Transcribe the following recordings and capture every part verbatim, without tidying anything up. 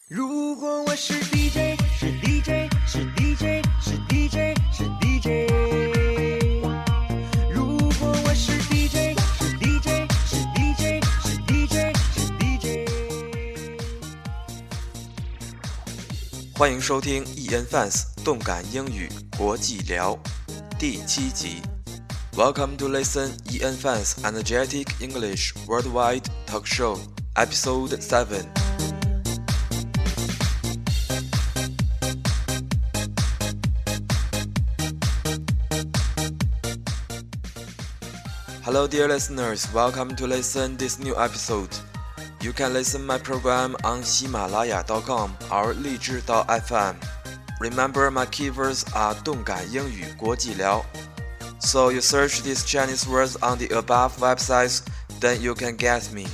如果我是 D J， 是 D J， 是 D J， 是 D J， 是 D J。如果我是 D J， 是 D J， 是 D J， 是 D J， 是 D J。 欢迎收听 E N Fans 动感英语国际聊第七集。Welcome to listen E N Fans Energetic English Worldwide Talk Show Episode seven。Hello dear listeners, welcome to listen this new episode. You can listen my program on Himalaya dot com or 荔枝 dot F M. Remember my keywords are 动感英语国际聊. So you search these Chinese words on the above websites, then you can get me.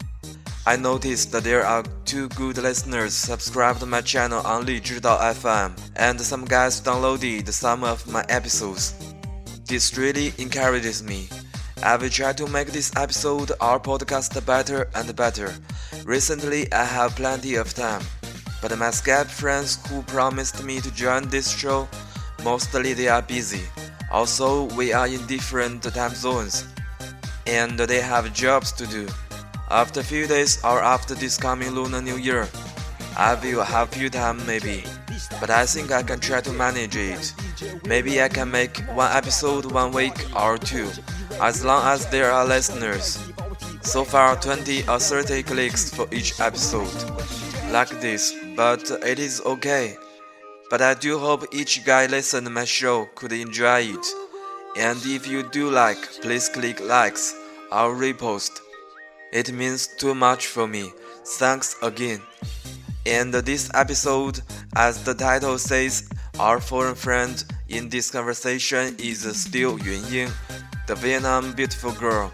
I noticed that there are two good listeners subscribed to my channel on 荔枝 dot F M, and some guys downloaded some of my episodes. This really encourages me.I will try to make this episode our podcast better and better. Recently, I have plenty of time, but my Skype friends who promised me to join this show, mostly they are busy. Also, we are in different time zones, and they have jobs to do. After a few days or after this coming Lunar New Year, I will have few time maybe, but I think I can try to manage it. Maybe I can make one episode one week or two.As long as there are listeners. So far, twenty or thirty clicks for each episode. Like this, but it is okay. But I do hope each guy listening to my show could enjoy it. And if you do like, please click likes or repost. It means too much for me. Thanks again. And this episode, as the title says, our foreign friend in this conversation is still Yunying.The Vietnam beautiful girl.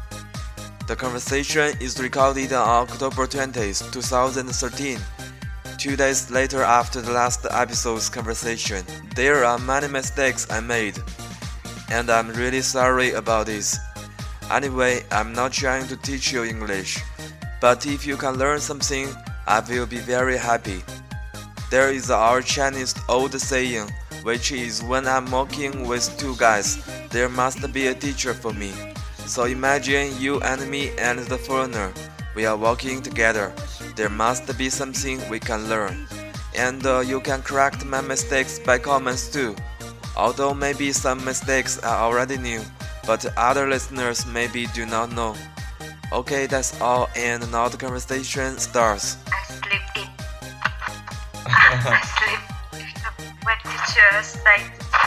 The conversation is recorded on October twentieth, twenty thirteen, two days later after the last episode's conversation. There are many mistakes I made, and I'm really sorry about this. Anyway, I'm not trying to teach you English, but if you can learn something, I will be very happy. There is our Chinese old saying, which is when I'm walking with two guys,There must be a teacher for me. So imagine you and me and the foreigner. We are walking together. There must be something we can learn. And uh, you can correct my mistakes by comments too. Although maybe some mistakes I already knew, but other listeners maybe do not know. Okay, that's all, and now the conversation starts. I sleep in. I sleep when teacher say,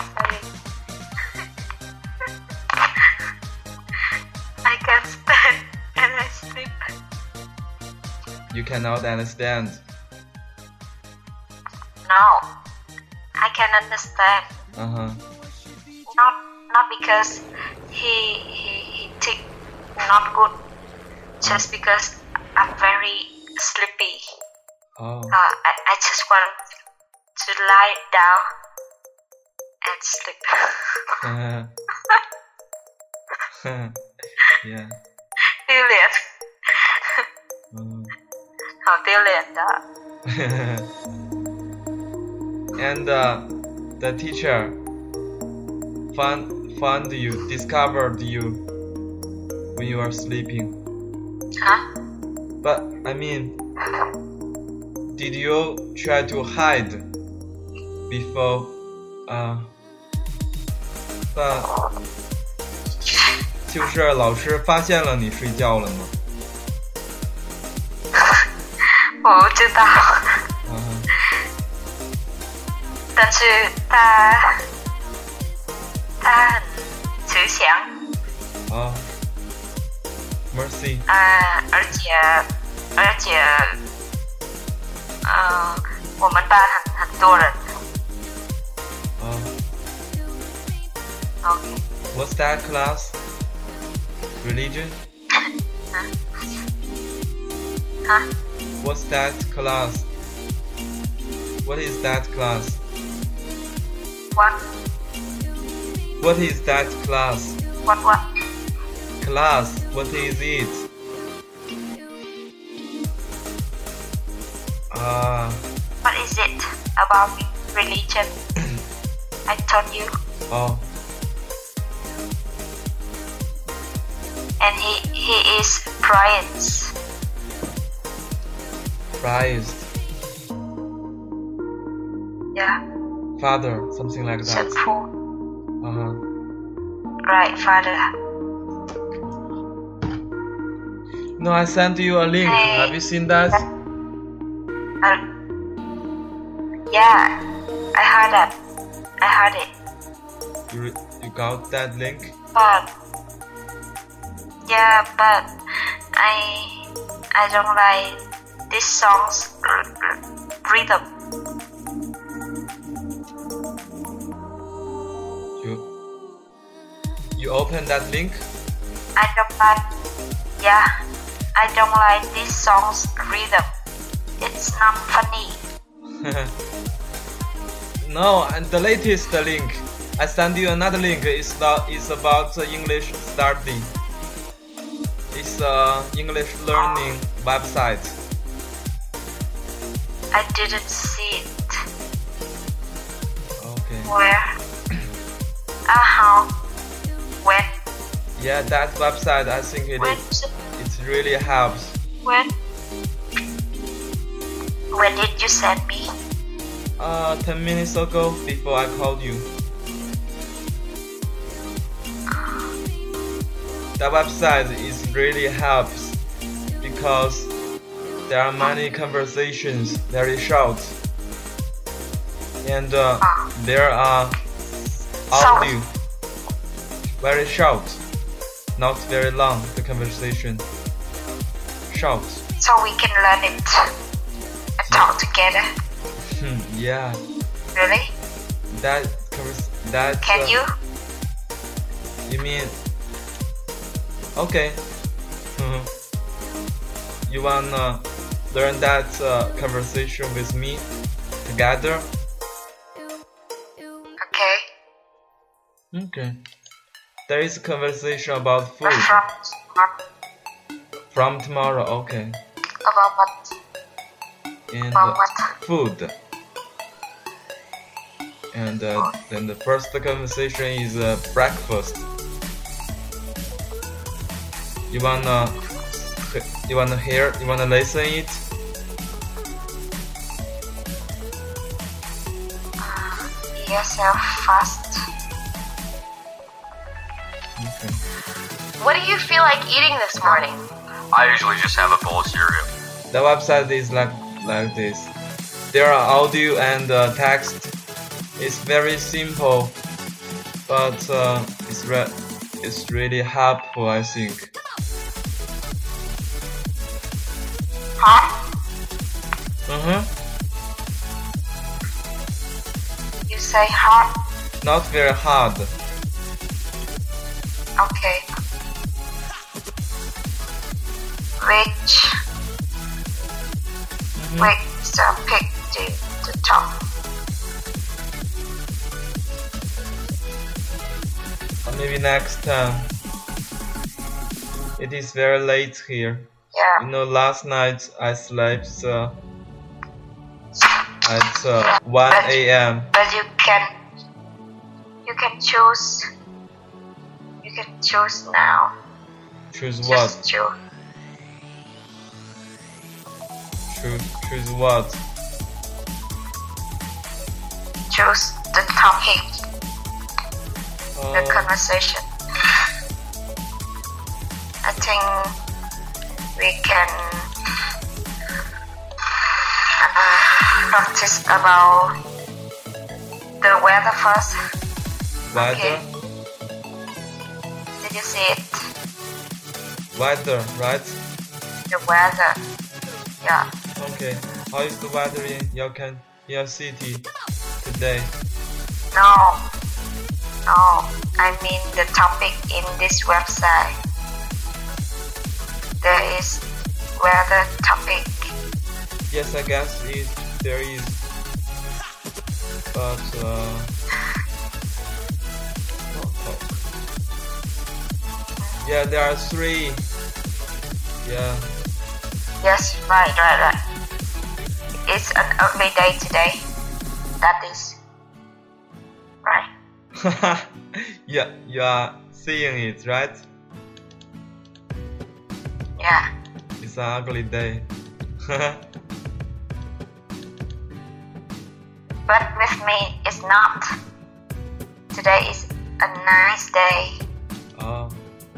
I can't stand and I sleep. You cannot understand. No, I can understand. Uh-huh. Not not because he he he think not good. Just because I'm very sleepy. Oh. Uh, I I just want to lie down and sleep. Yeah. 丢脸， Mm. 好丢脸的。 And uh, the teacher found found you, discovered you when you are sleeping. Huh? But I mean, did you try to hide before? Uh, but 就是老师发现了你睡觉了吗？ 我不知道。 嗯。 但是他他很慈祥。 啊。Mercy。 呃，而且而且，嗯、呃，我们班很很多人。 啊。 Okay. What's that class? Religion? Huh? What's that class? What is that class? What? What is that class? What what? Class, what is it? Ah, what is it about religion? I told you. Oh. And he he is praised. Praised. Yeah. Father, something like that. Sinful. Uh-huh. Right, Father. No, I sent you a link. Hey. Have you seen that? Uh, yeah, I heard that. I heard it. You re- you got that link? But yeah, but I I don't like this song's r- r- rhythm. You you open that link? I don't like. Yeah, I don't like this song's rhythm. It's not funny. No, and the latest link. I send you another link. It's the, it's about uh, English study. It's a English learning website. I didn't see it. Okay. Where? Uh how? When? Yeah, that website. I think it When? is, it really helps. When? When did you send me? Uh, ten minutes ago, before I called you. That website is really helps because there are many conversations, very short, and uh, there are audio, very short, not very long. The conversation, short. So we can learn it and talk together. Hmm, yeah, Really? that convers- that. Can uh, you? You mean? Okay. Mhm. You wanna learn that uh, conversation with me together? Okay. Okay. There is a conversation about food But from what? from tomorrow. Okay. About what? And About uh, what? food. And uh, then the first conversation is uh, breakfast. You wanna, you wanna hear? You wanna listen it? Yourself fast. Okay. What do you feel like eating this morning? I usually just have a bowl of cereal. The website is like like this. There are audio and uh, text. It's very simple, but uh, it's re- it's really helpful, I think. Huh? Uh-huh. You say hot? Not very hard. Okay. Which Mhm. which uh, pick the the top? Or maybe next time. It is very late here. Yeah. You know, last night I slept uh, at uh, one A M But you can you can choose you can choose now. Choose what? Just choose. Choose, choose what? Choose the topic, the Uh, conversation. I think we can uh, practice about the weather first. weather, Did you see it? weather, right? The weather. Yeah. Okay. How is the weather in your can your city today? No. No. I mean the topic in this website. There is weather topic. Yes, I guess it there is, but uh, yeah, there are three. Yeah. Yes, right, right, right. it's an ugly day today. That is right. yeah, you are seeing it, right? Yeah. It's an ugly day. But with me, it's not. Today is a nice day. Oh.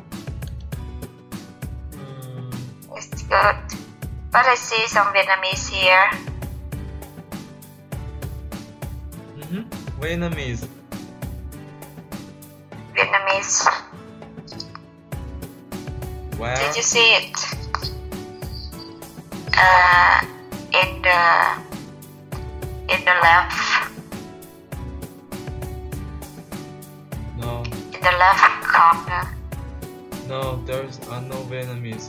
Mm. It's good. But I see some Vietnamese here. Mm-hmm. Vietnamese. Vietnamese. Where? Did you see it? Uh, in the in the left, No, in the left corner. no, there's uh, no Vietnamese.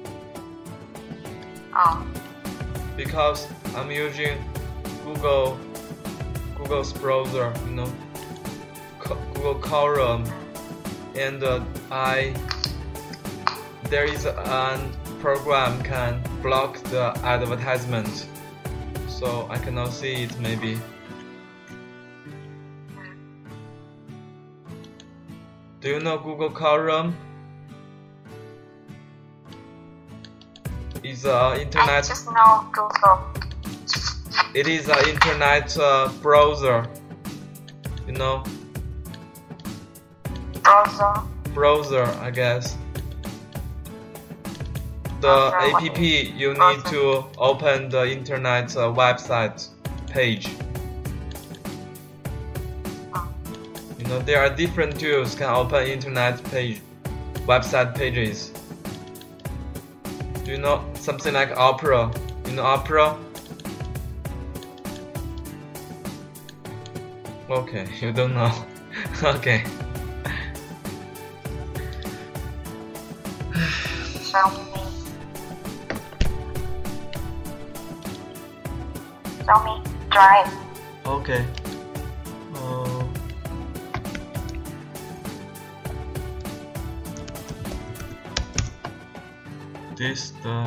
Oh, Because I'm using Google, Google's browser, you know, Co- Google Chrome, and uh, I there is a program can block the advertisement, so I cannot see it. Maybe. Do you know Google Chrome? It's a I internet. just know Google. It is an internet uh, browser. You know, Browser. browser. I guess. The Browser, what app is you need browser? to open the internet uh, website page. You know, there are different tools can open internet page, website pages. Do you know something like Opera? You know Opera? Okay, you don't know. Okay. Show me. Show me. Drive. Okay. Uh, this the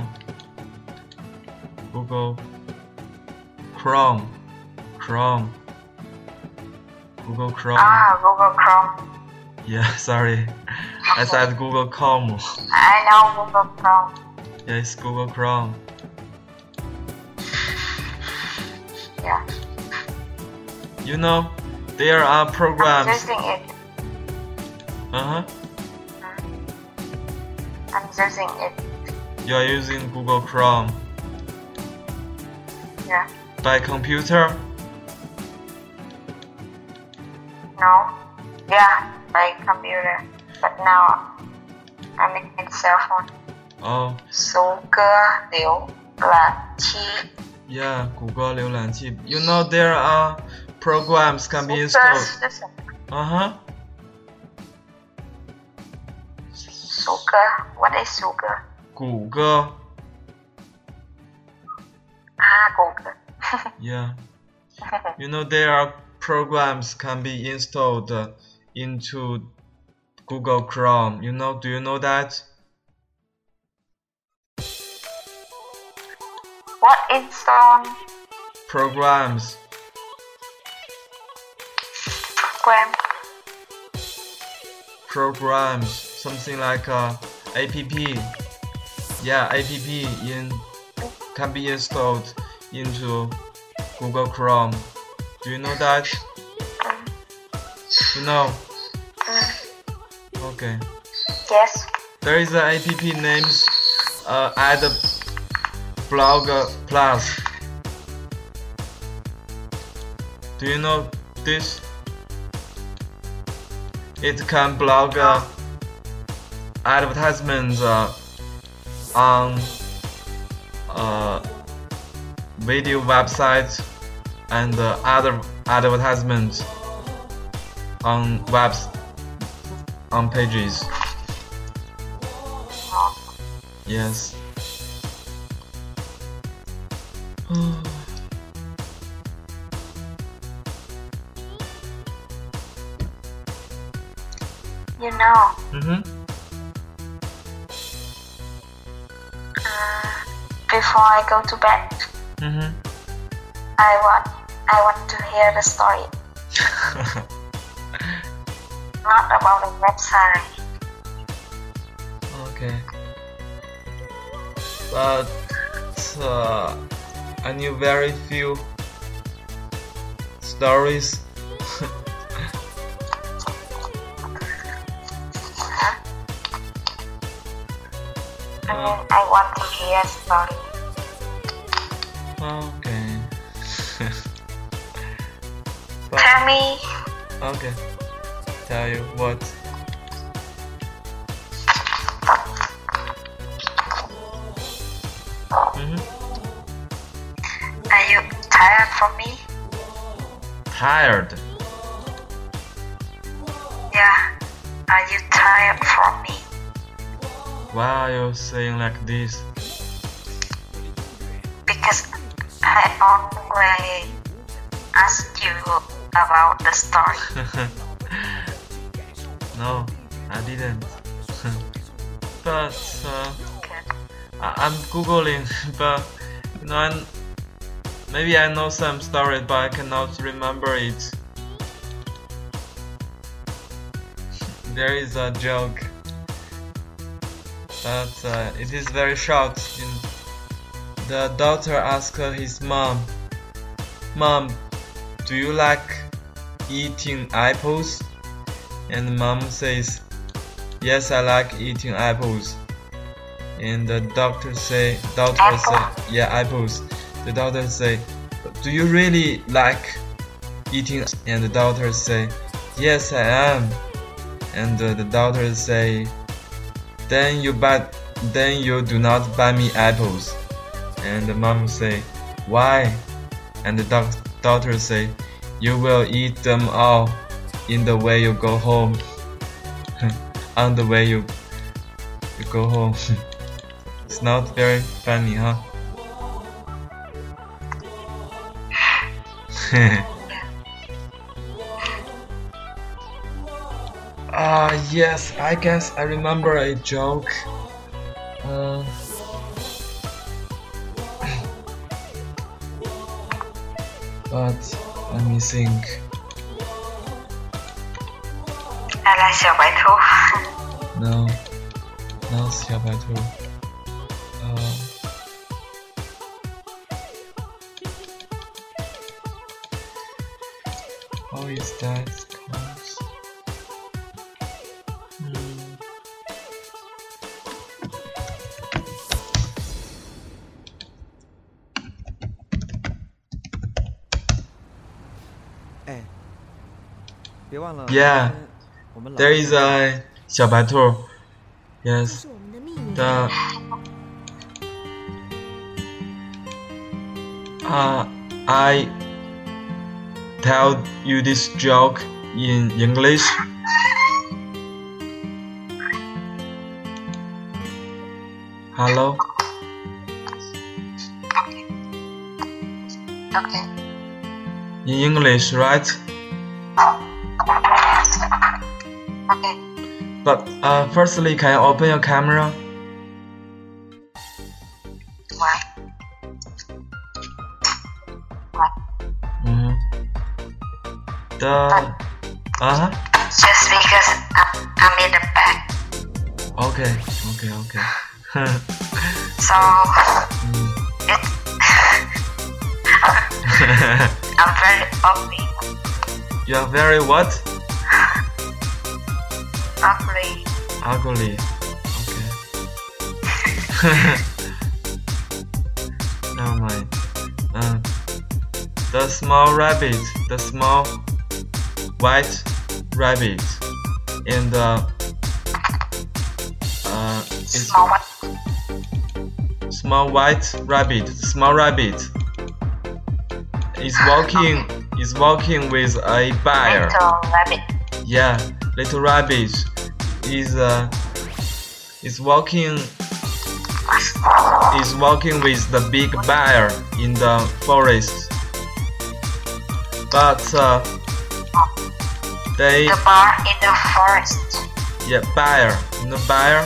Google Chrome. Chrome. Google Chrome. Ah, Google Chrome. Yeah, sorry. I said Google Chrome. I know Google Chrome. Yeah, it's Google Chrome. Yeah. You know, there are I'm programs. using it. Uh huh. I'm using it. You are using Google Chrome Yeah. by computer. No. Yeah, by computer. But now I'm in cell phone. Oh, Số cơ liễu là chi. yeah, 谷歌浏览器. You know there are programs can be số cơ installed. 是什么？ Uh huh. số cơ ？What is số cơ？ 谷歌. Ah, 谷歌。 Yeah. You know there are programs can be installed uh, into Google Chrome. You know, do you know that? What install Programs. program? Programs. Something like uh, app. Yeah, app in can be installed into Google Chrome. Do you know that? You know? Okay. Yes. There is an app named uh, AdBlogger Plus. Do you know this? It can blog uh, advertisements uh, on uh, video websites and uh, other advertisements on webs on pages. Yes. You know, Mm-hmm. uh, before I go to bed, Mm-hmm. I want I want to hear the story. Not about the website. Okay. But uh, I knew very few stories. I mean, I want to hear a story. Okay. But, Tell me. okay. Tell you what. Mm-hmm. Are you tired from me? Tired. Yeah. Are you tired from me? Why are you saying like this? Because I only asked you about the story. No, I didn't. But uh, I I'm googling, but you know, I'm, maybe I know some story, but I cannot remember it. There is a joke, but uh, it is very short. In the daughter asked his mom, "Mom, do you like eating apples?" And the mom says, "Yes, I like eating apples." And the doctor say, daughter Apple? say, "Yeah, apples." The daughter say, "Do you really like eating?" And the daughter say, "Yes, I am." And uh, the daughter say, "Then you buy, then you do not buy me apples." And the mom say, "Why?" And the doc daughter say, "You will eat them all in the way you go home." On the way you you go home. It's not very funny, huh? Ah, uh, yes, I guess I remember a joke. Uh, but let me think. 来来，小白兔。 No, not 小白兔。Uh, how is that called? Hmm. Yeah, there is a 小白兔。Yes, the uh, I tell you this joke in English. Hello. Okay. In English, right? Okay. But uh, firstly, can you open your camera? Why? Why? Mm-hmm. The uh huh. Just because I'm, I'm in the back. Okay, okay, okay. So Mm. it I'm very ugly. You are very what? Ugly. Ugly. Okay. Never mind. Uh, the small rabbit, the small white rabbit, and the uh, is Small what? small white rabbit. Small rabbit is walking is walking with a bear. Little rabbit. Yeah, little rabbit is uh is walking is walking with the big bear in the forest. But uh, they The bar in the forest. yeah bear in the bear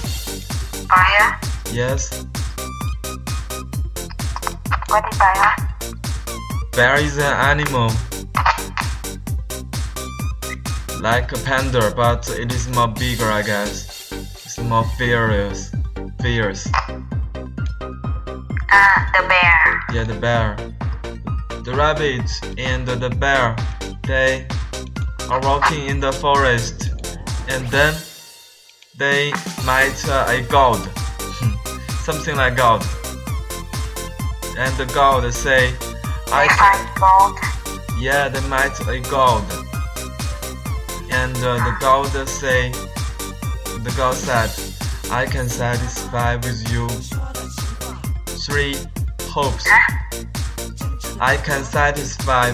Fire. yes What is fire? bear is an animal like a panda, but it is more bigger, I guess. It's more fierce. Fierce. Ah, the bear. Yeah, the bear. The rabbit and the bear, they are walking in the forest, and then they met uh, a god, something like God. And the god say, I find gold. Yeah, they met a god. And uh, the god say, the god said, I can satisfy with you three hopes. I can satisfy.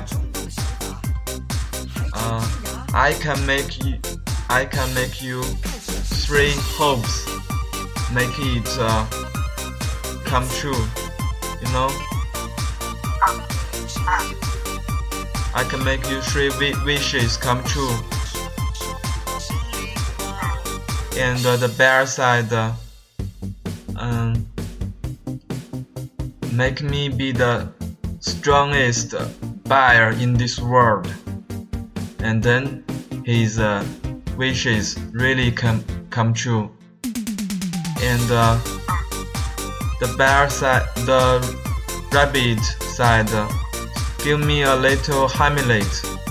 Uh, I can make you. I can make you three hopes. Make it uh, come true. You know. I can make you three wishes come true. And uh, the bear said, uh, um, make me be the strongest bear in this world. And then his uh, wishes really come, come true. And uh, the bear said, the rabbit said, uh, give me a little Hamlet.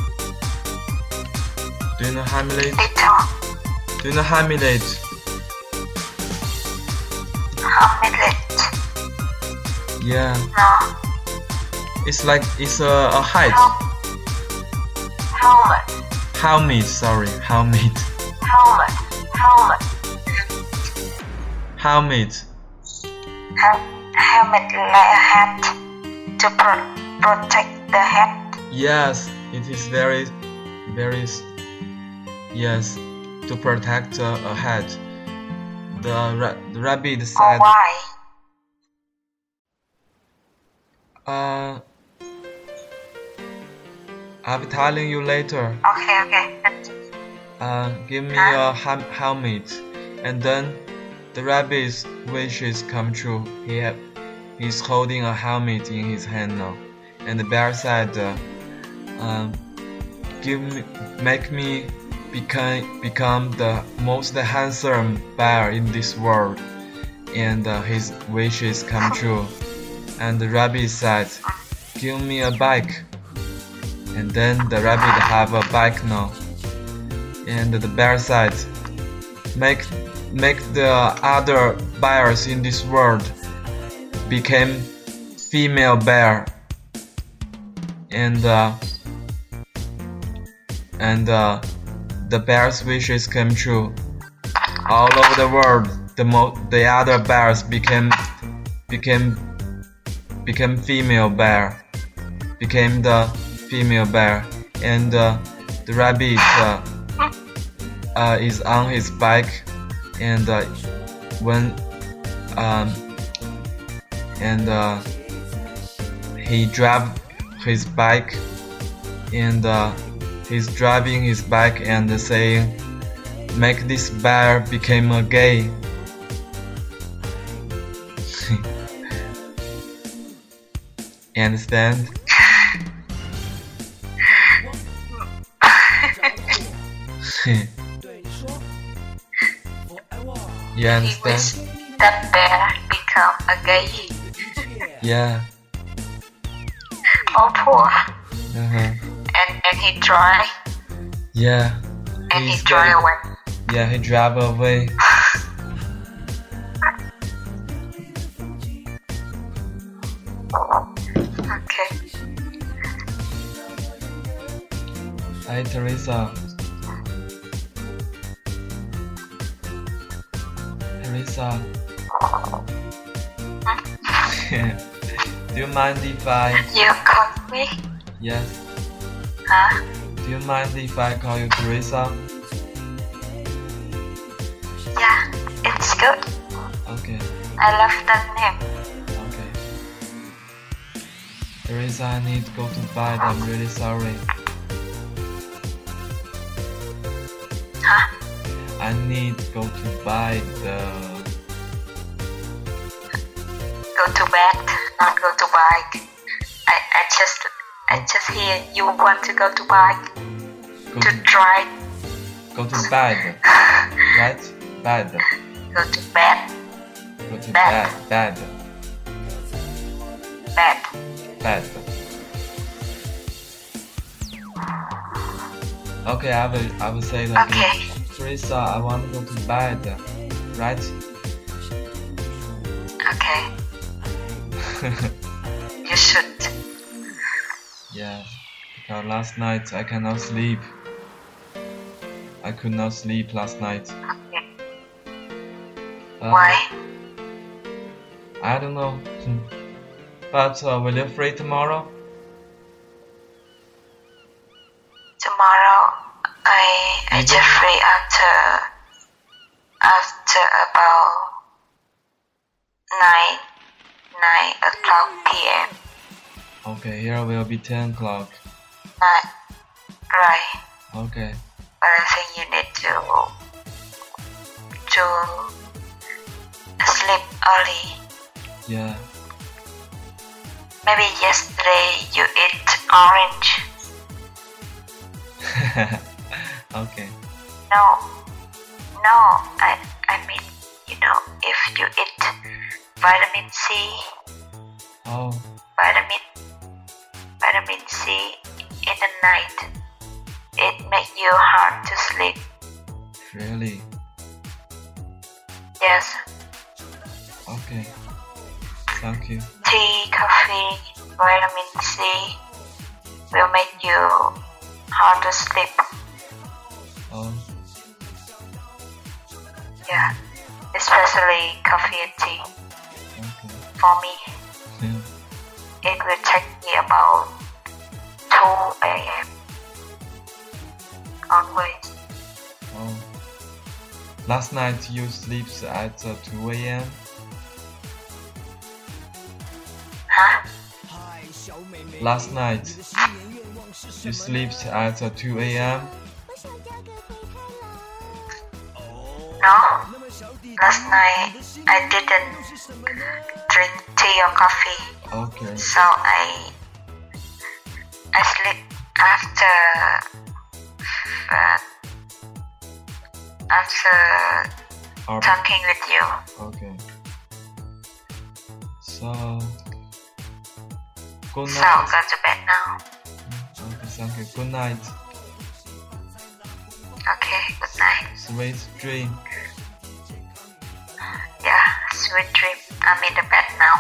Do you know Hamlet? Little. Do you know Hamlet? Hamlet. Yeah. No. It's like it's a, a height. Helmet. Helmet, sorry, helmet. Helmet. Helmet. Helmet. Hel- helmet like a hat to pro- protect the head. Yes, it is very, very, yes, to protect uh, a head. The, ra- the rabbit Or said, why? uh, I'll be telling you later. Okay, okay. Uh, give me a ham- helmet. And then the rabbit's wishes come true. He ha- he's holding a helmet in his hand now. And the bear said, uh, um, give me, make me become become the most handsome bear in this world. And uh, his wishes come true. And the rabbit said, give me a bike. And then the rabbit have a bike now. And the bear said, make make the other bears in this world become female bear. And uh, and uh, the bear's wishes came true. All over the world, the mo- the other bears became became became female bear, became the female bear, and uh, the rabbit uh, uh, is on his bike, and uh, when um, and uh, he drive his bike, and uh, he's driving his bike and saying, make this bear become a gay. You understand? You He understand? wish that bear become a gay. Yeah. Oh, poor. Uh-huh. And and he try. Yeah. And he He's try very- away. Yeah, he drive away. Okay. Hi, Teresa. Teresa. Do you mind if I... You call me? Yes. Huh? Do you mind if I call you Teresa? Yeah, it's good. Okay. I love that name. Okay. Teresa, I need to go to bed. I'm really sorry. Huh? I need to go to buy the... Go to bed, not go to bike. I, I just I just hear you want to go to bike Go to to, try go to bed. Right? Bed. go to bed Go to Bed. bed. Bed. bed. Bed. Okay, I will I will say that. Okay. Teresa, I want to go to bed. Right? Okay. You should. Yeah. Because last night I cannot sleep. I could not sleep last night. Okay. Uh, Why? I don't know. Hmm. But uh, will you free tomorrow? Tomorrow I I Mhm. just free after after about nine nine o'clock p.m. Okay, here will be ten o'clock. Nine. Right. Okay. But I think you need to to sleep early. Yeah. Maybe yesterday you ate orange. Okay. No, no. I I mean, you know, if you eat vitamin C, Oh, vitamin vitamin C in the night, it makes you hard to sleep. really? Yes, Okay. Thank you. tea, coffee, vitamin C will make you hard to sleep. Oh, Yeah, especially coffee and tea. okay. For me, Yeah. it will take me about two a.m. onwards. Oh. Last night you sleep at uh, two a.m. Huh? Last night you sleep at uh, two a.m. No, last night I didn't drink tea or coffee, Okay. so I I sleep after uh, after Ar- talking with you. Okay. So, good So night. go to bed now. Okay, thank you. Good night. Okay, good night. Sweet dream. Yeah, sweet dream. I'm in the bed now.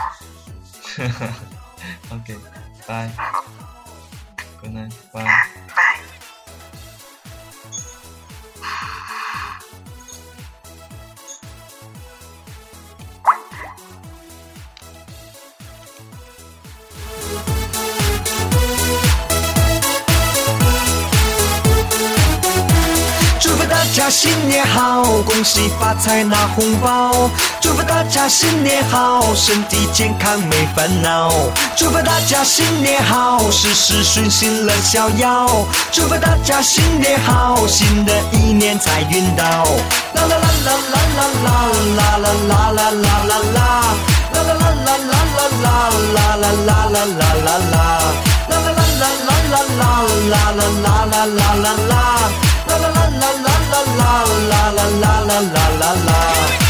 Okay. Bye. Good night. Bye. Yeah, bye. 家新年好，恭喜发财拿红包，祝福大家新年好，身体健康没烦恼，祝福大家新年好，事事顺心乐逍遥，祝福大家新年好，新的一年财运到，啦啦啦啦啦啦啦啦啦啦啦啦啦啦。啦啦啦啦啦啦啦啦啦啦啦啦啦啦，啦啦啦啦啦啦啦啦啦啦啦啦啦，啦啦啦啦啦啦啦啦啦啦啦啦。